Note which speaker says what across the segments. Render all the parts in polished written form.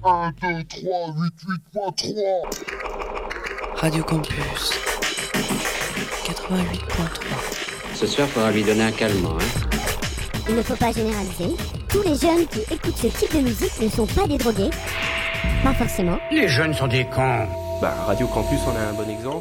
Speaker 1: 1, 2, 3, 8, 8.3.
Speaker 2: Radio Campus 88.3.
Speaker 3: Ce soir, faudra lui donner un calmant, hein.
Speaker 4: Il ne faut pas généraliser. Tous les jeunes qui écoutent ce type de musique ne sont pas des drogués. Pas forcément.
Speaker 5: Les jeunes sont des cons.
Speaker 6: Radio Campus en a un bon exemple.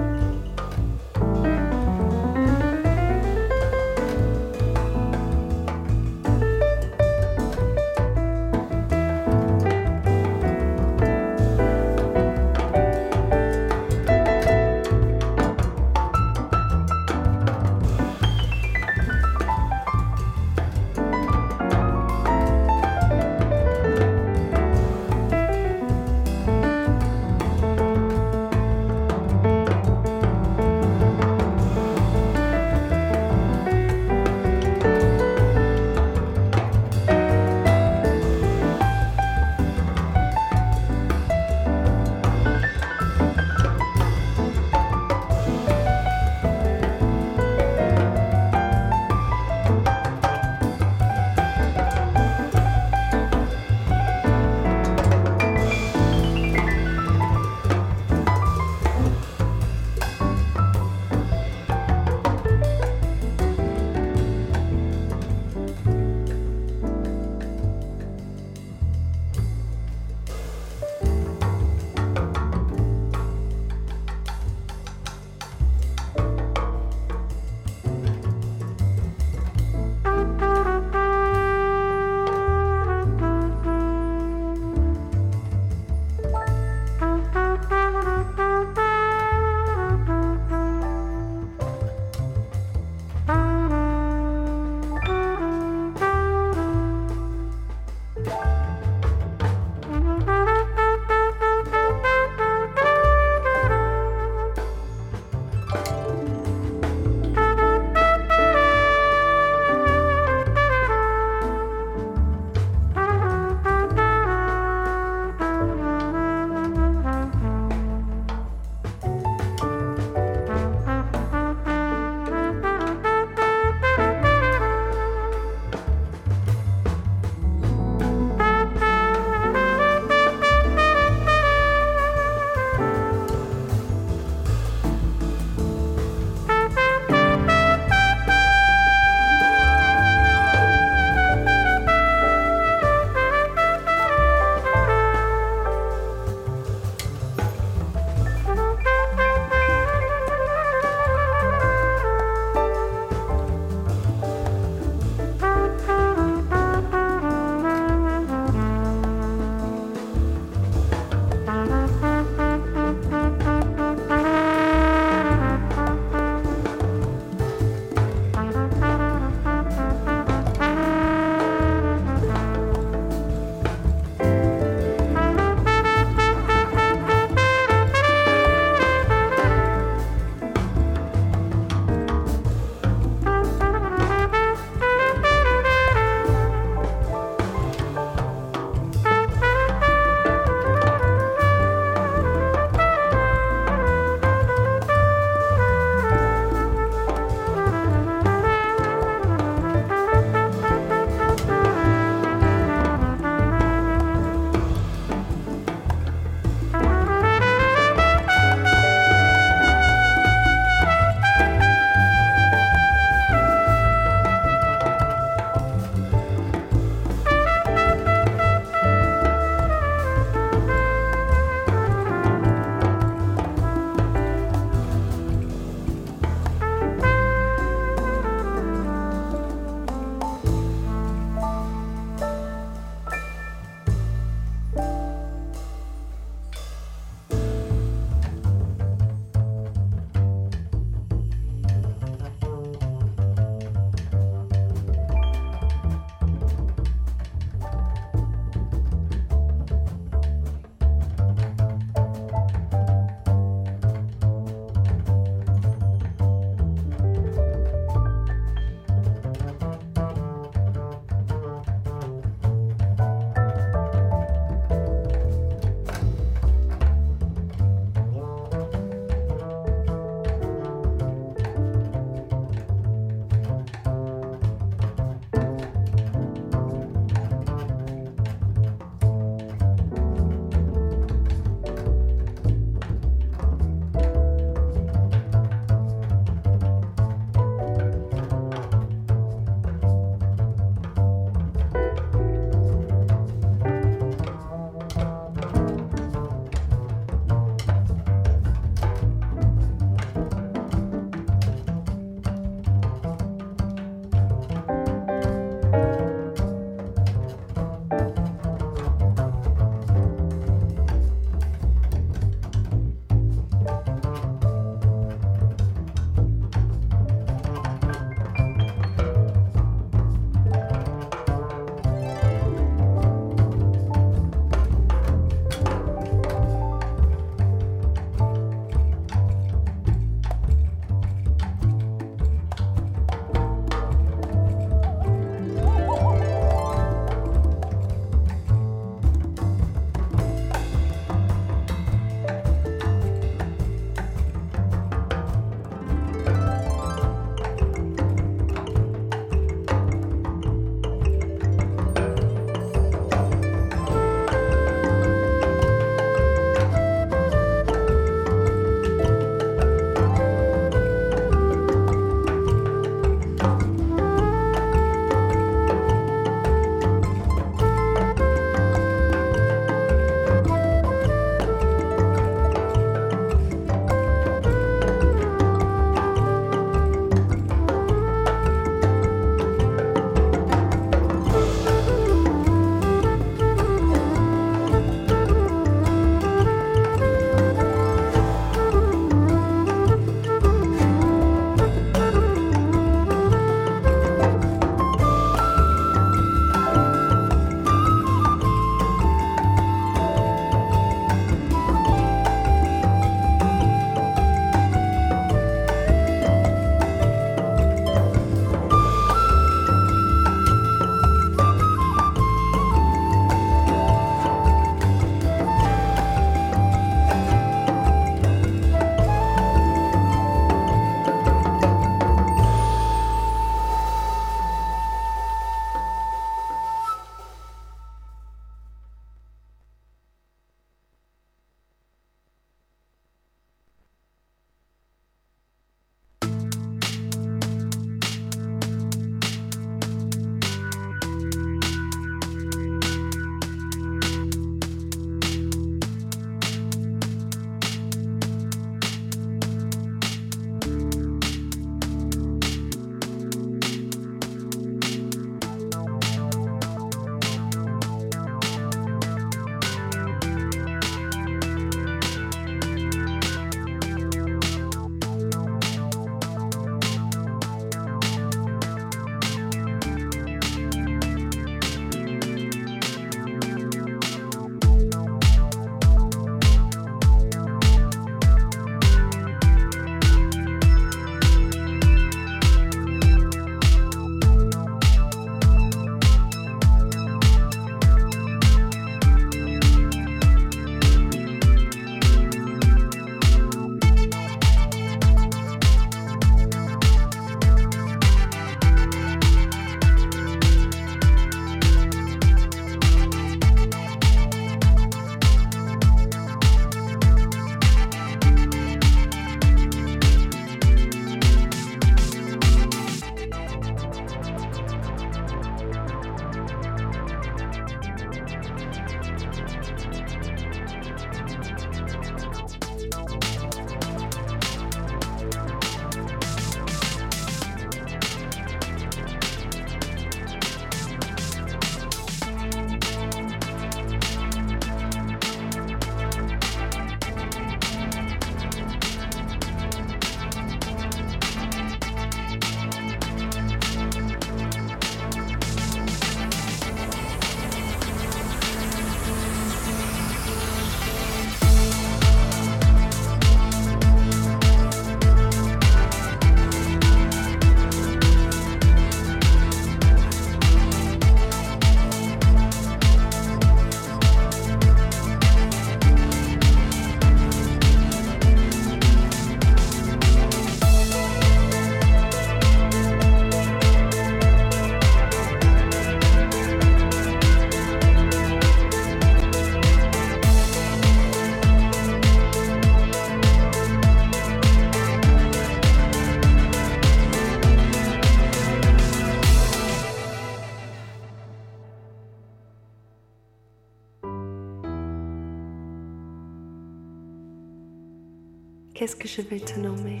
Speaker 5: Qu'est-ce que je vais te nommer?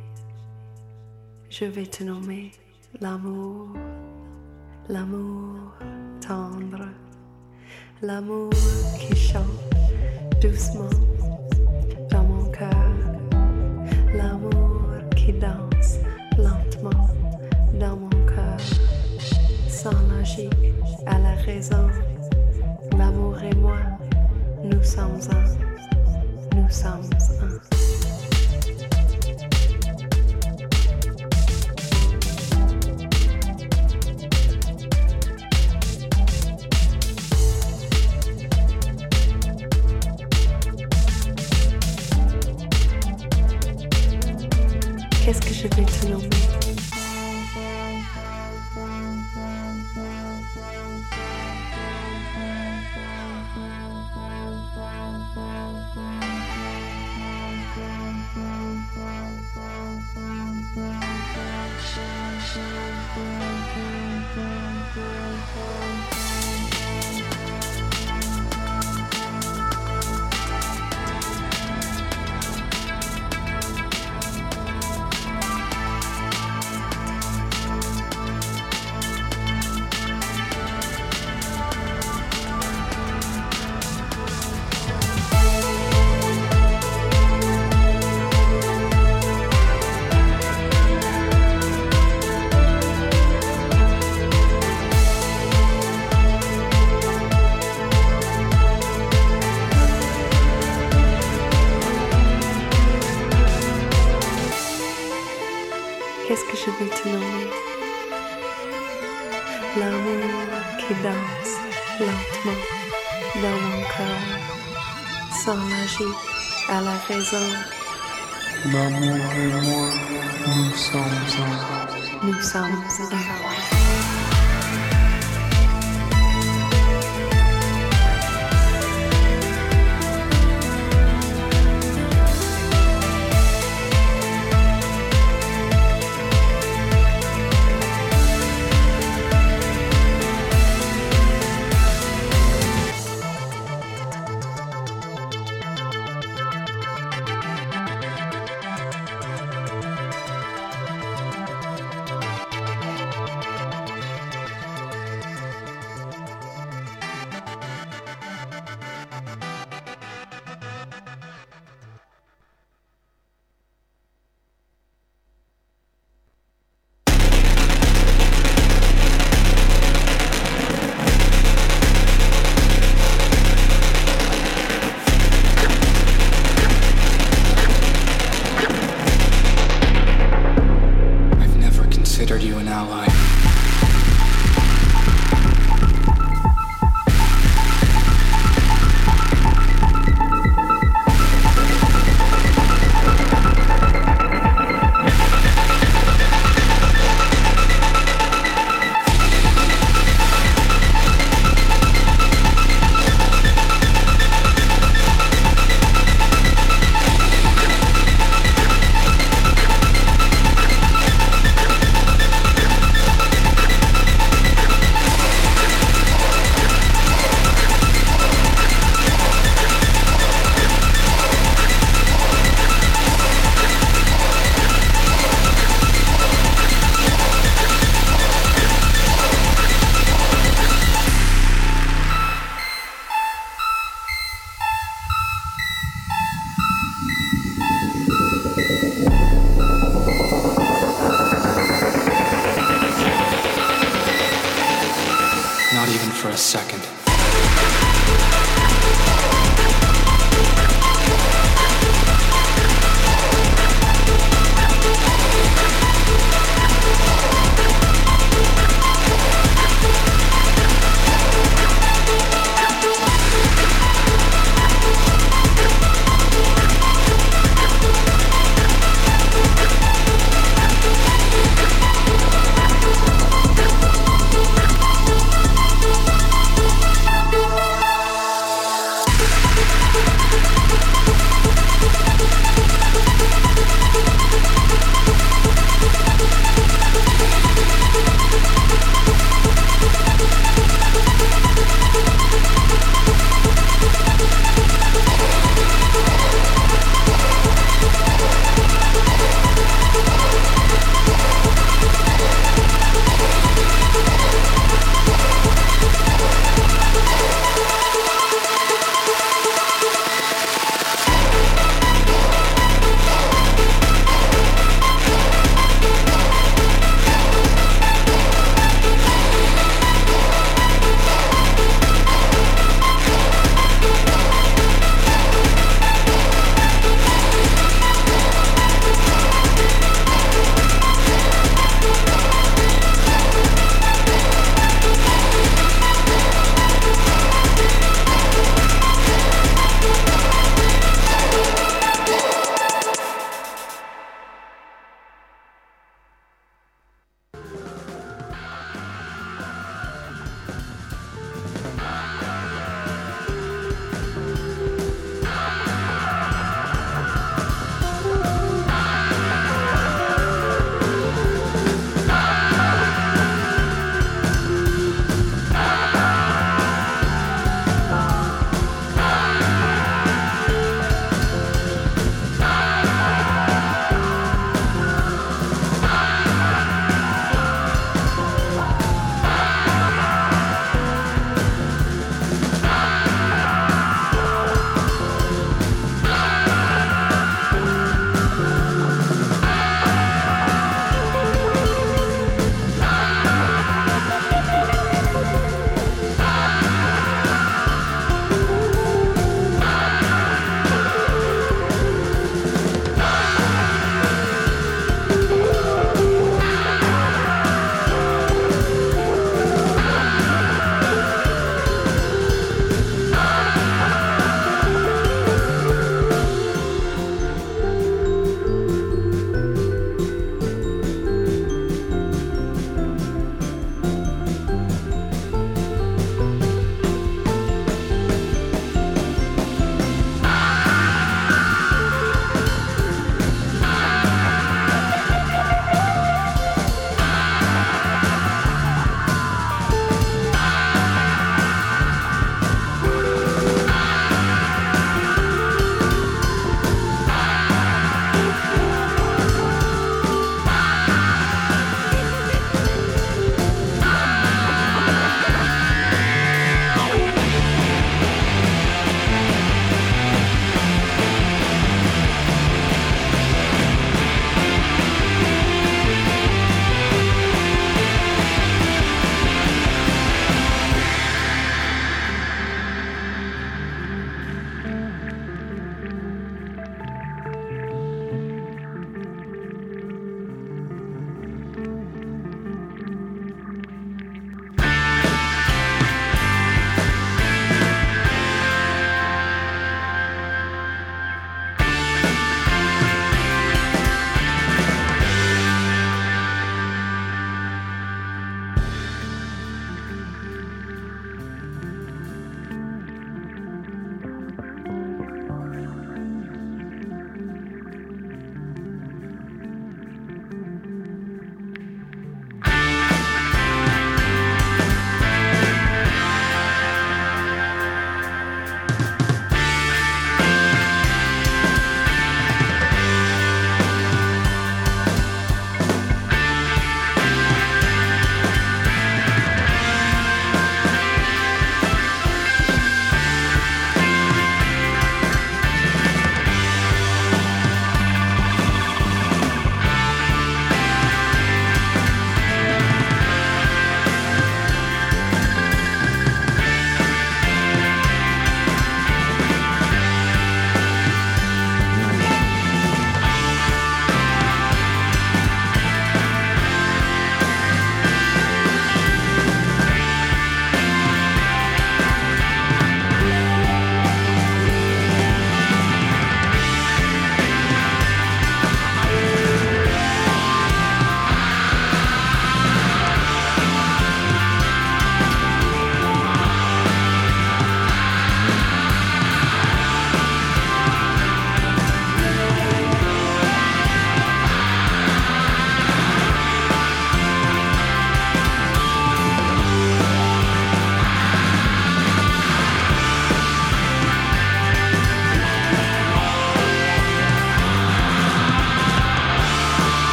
Speaker 5: Je vais te nommer l'amour, l'amour tendre, l'amour qui chante doucement dans mon cœur, l'amour qui danse lentement dans mon cœur, sans logique à la raison. L'amour et moi, nous sommes un, nous sommes un. Qu'est-ce que je vais te nommer? Qu'est-ce que je vais te nommer? L'amour qui danse lentement dans mon cœur, sans logique à la raison.
Speaker 7: L'amour et moi, nous sommes un.
Speaker 5: Nous sommes un.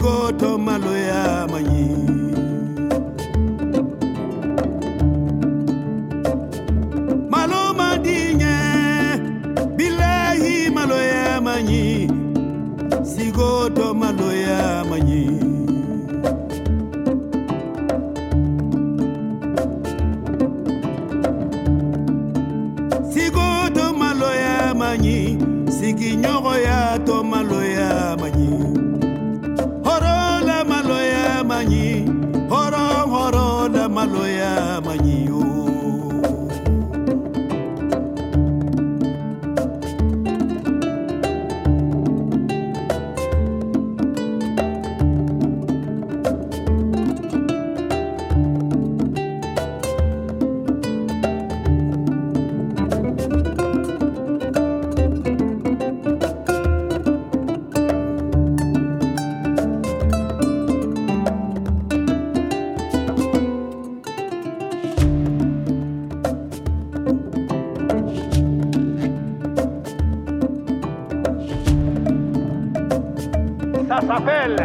Speaker 8: sigoto maloya manyi malo madinye billahi maloya manyi sigoto maloya manyi sigoto maloya manyi sigi nyogo ya to maloya manyi horo la maloya manyi horo la maloya manyi o
Speaker 9: Ça s'appelle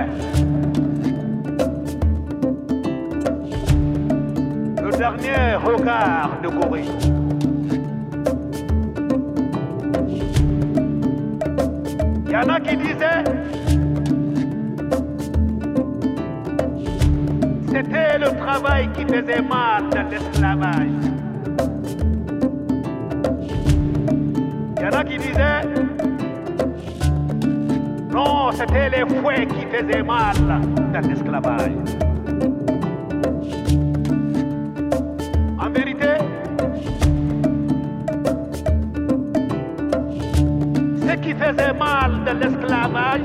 Speaker 9: le dernier regard de Corée. Il y en a qui disaient c'était le travail qui faisait mal dans l'esclavage. Il y en a qui disaient non, c'était les fouets qui faisaient mal dans l'esclavage. En vérité, ce qui faisait mal dans l'esclavage,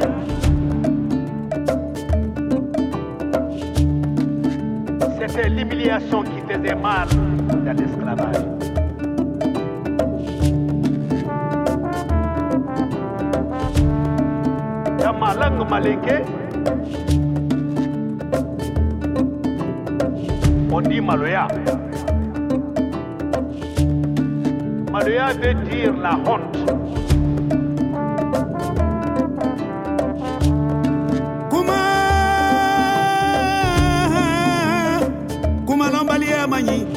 Speaker 9: c'était l'humiliation qui faisait mal dans l'esclavage. Dans ma langue malinké, on dit maloya. Maloya veut dire la honte. Kuma lambalia mani,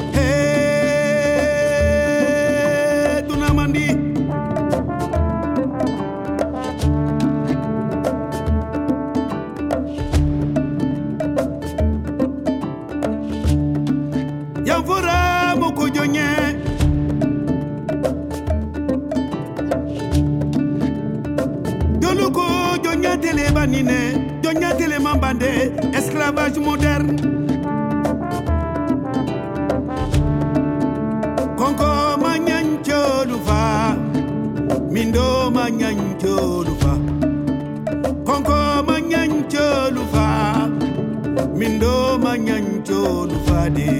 Speaker 9: hey, tunamandi. Yamfura moko jonye Yoluko jonya tele banine jonya tele mambande esclavage moderne Konko manyancho lufa Mindo manyancho lufa Konko manyancho lufa Mindo manyancho lufa de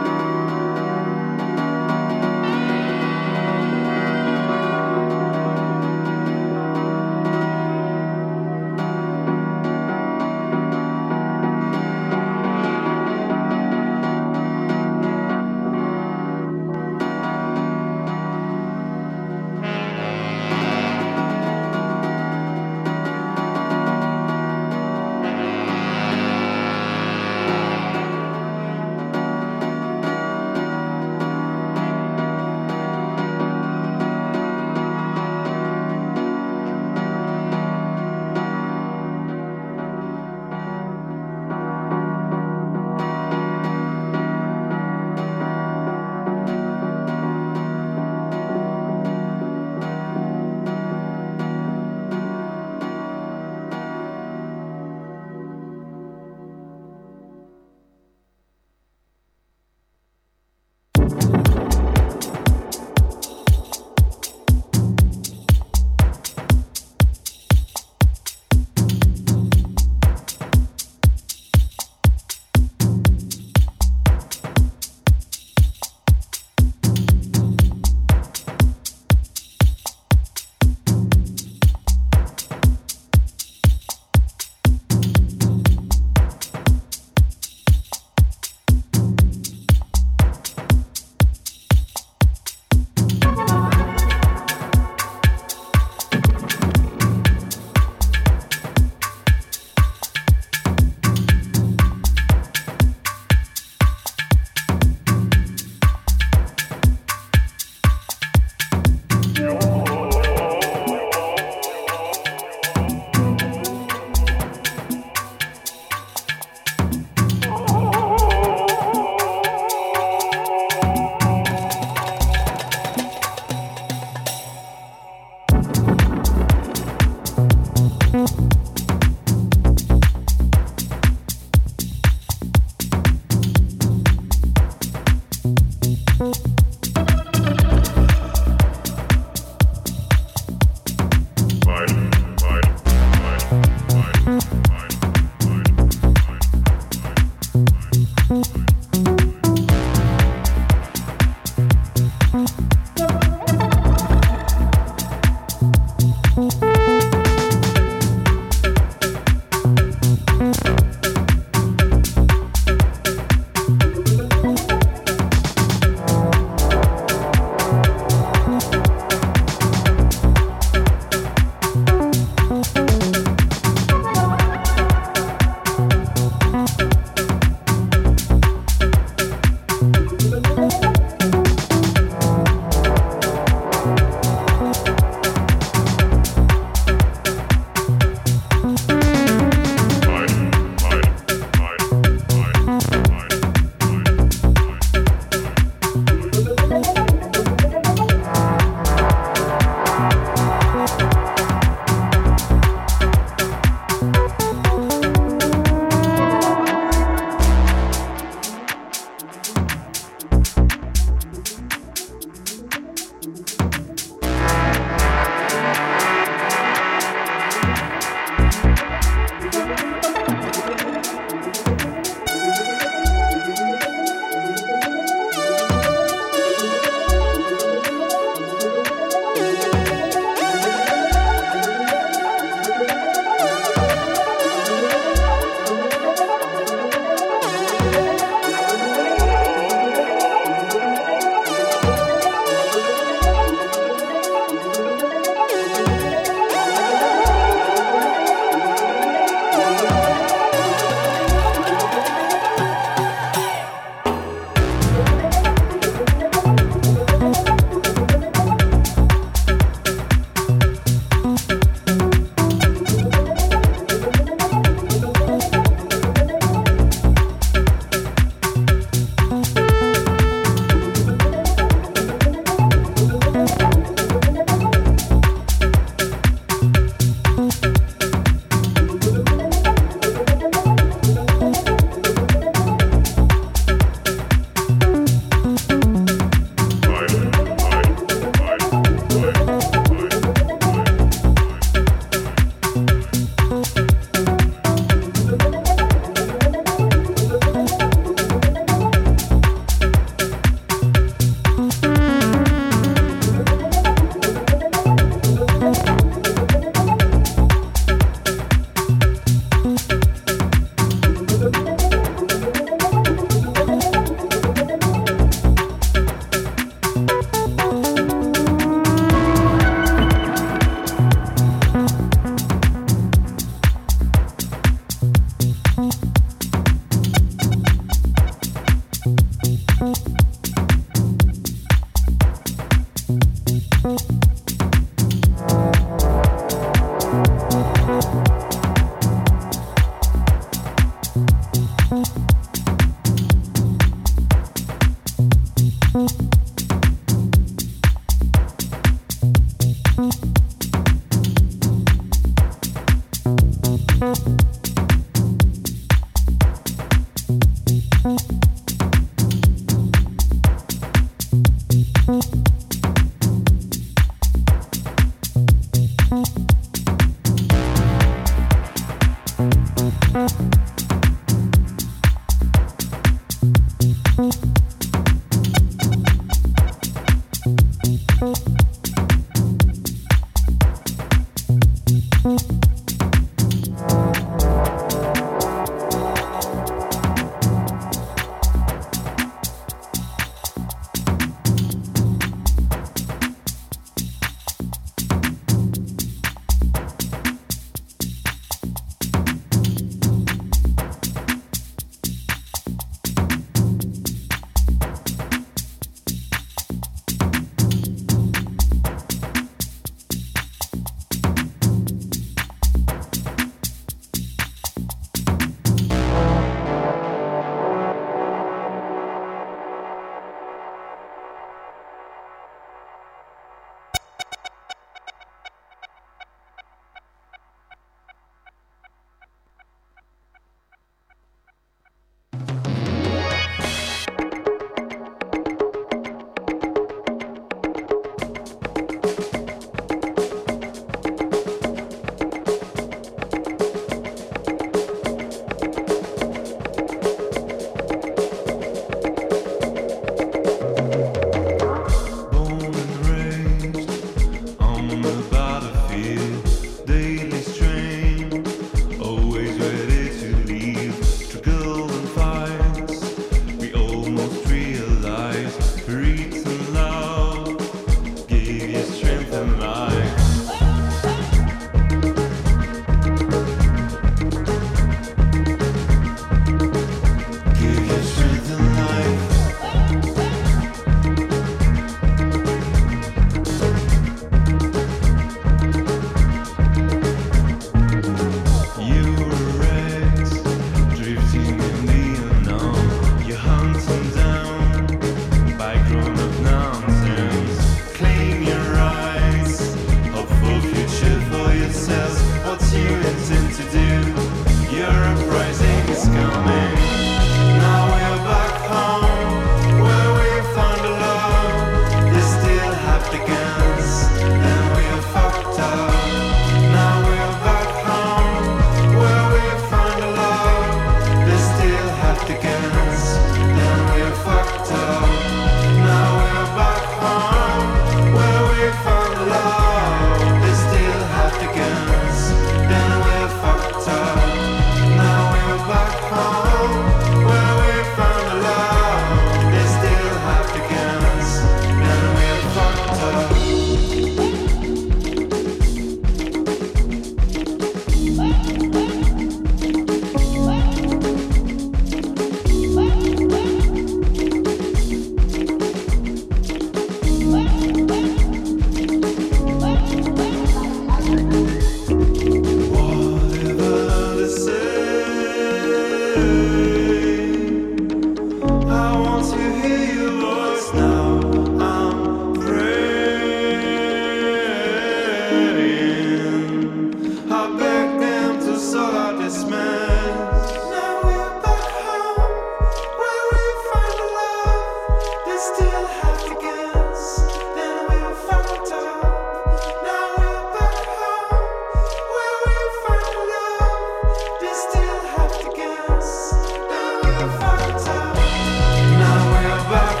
Speaker 10: Now we're back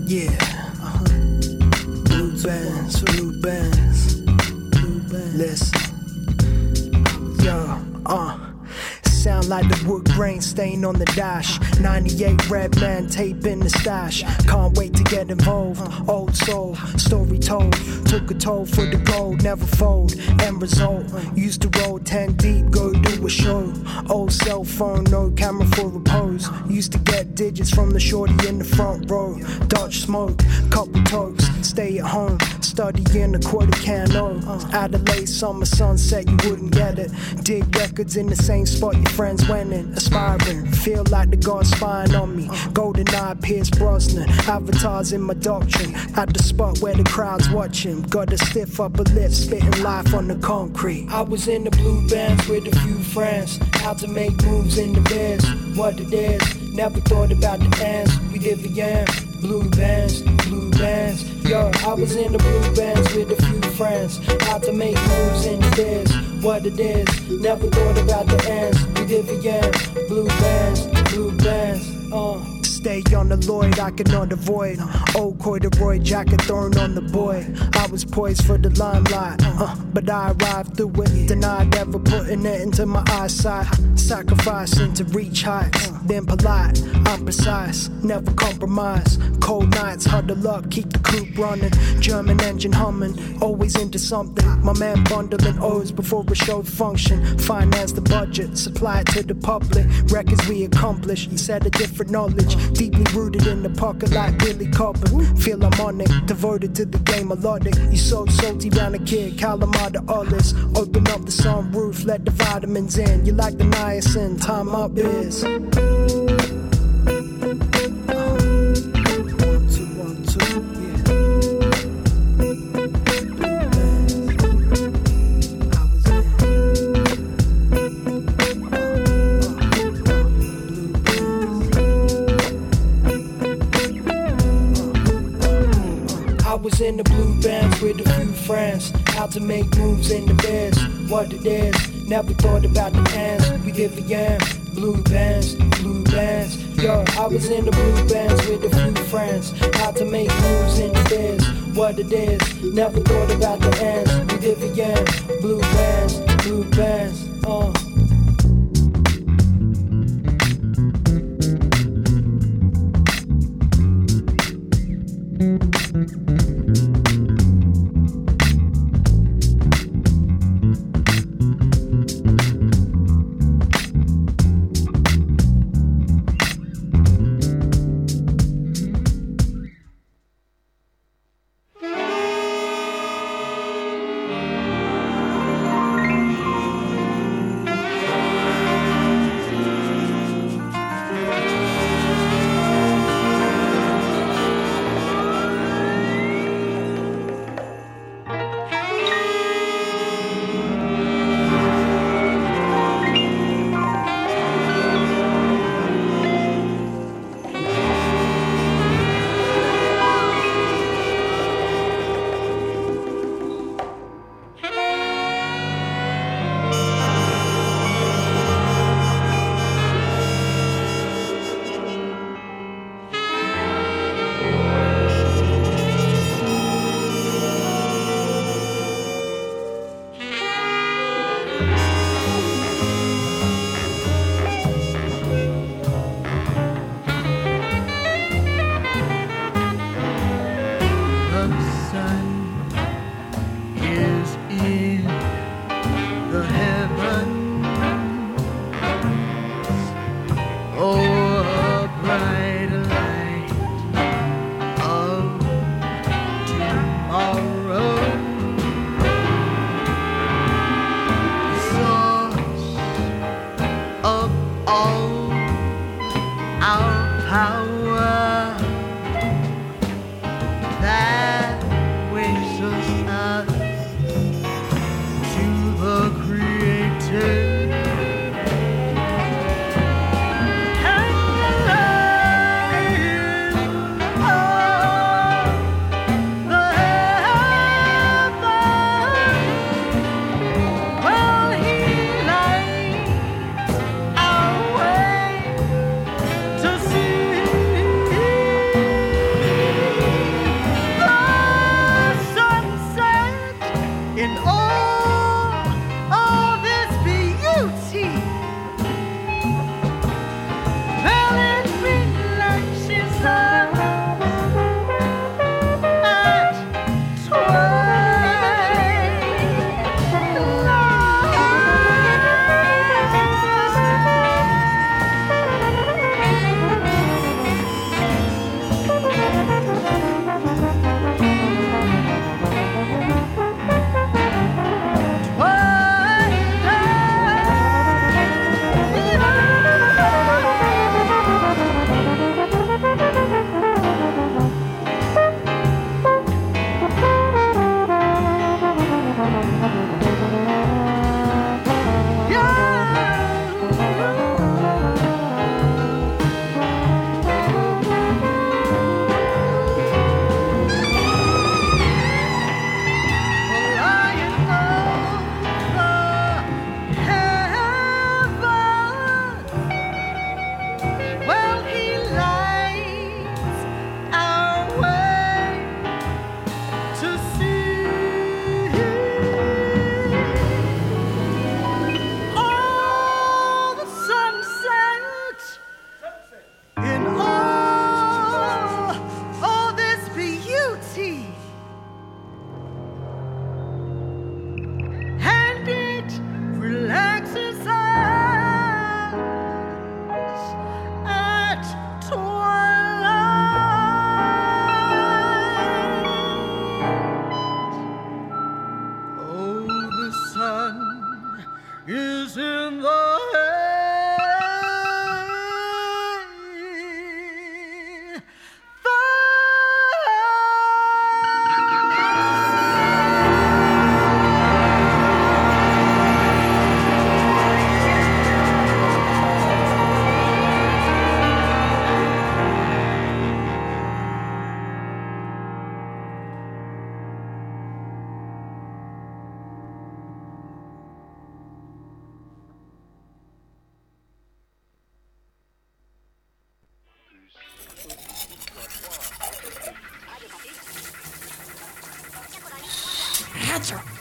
Speaker 10: Yeah, blue bands, blue bands, blue bands. Listen, yo, sound like the wood grain stain on the dash. 98 red man tape in the stash. Can't wait to get involved. Old soul, story told. Took a toll for the gold, never fold. End result, used to roll 10 deep, go do a show. Old cell phone, no camera for repose. Used to get digits from the shorty in the front row. Dodge smoke, couple tokes, stay at home. Studying a quarter cano. Adelaide summer sunset, you wouldn't get it. Dig records in the same spot your friends went in. Aspiring, feel like the God's spying on me. Golden eye, Pierce Brosnan. Avatars in my doctrine. At the spot where the crowd's watching. Got a stiff upper lip, spitting life on the concrete. I was in the blue bands with a few friends. How to make moves in the beds. What it is. Never thought about the ends. We did the end. Blue bands, blue bands. Yo, I was in the blue bands with a few friends. How to make moves in the biz. What it is. Never thought about the ends. We did the end. Blue bands, blue bands. Stay on the Lloyd, I cannot avoid. Old corduroy jacket thrown on the boy. I was poised for the limelight, but I arrived through it. Denied ever putting it into my eyesight. Sacrificing to reach heights. Been polite, I'm precise, never compromise. Cold nights, huddle up, keep the coupe running. German engine humming, always into something. My man bundling O's before a show function. Finance the budget, supply it to the public. Records we accomplish, set a different knowledge. Deeply rooted in the pocket like Billy Cobham. Feel I'm on it, devoted to the game melodic. You so salty round a kid, Calamar Olives. Open up the sunroof, let the vitamins in. You like the niacin, time up is. 1, 2, 1, 2, yeah. I was in the blue bands with a few friends. How to make moves in the beds. What it is. Never thought about the ends. We did the end. Blue bands, blue bands. Yo, I was in the blue bands with a few friends. How to make moves in the biz. What it is. Never thought about the ends. We did the end. Blue bands, blue bands. Sure.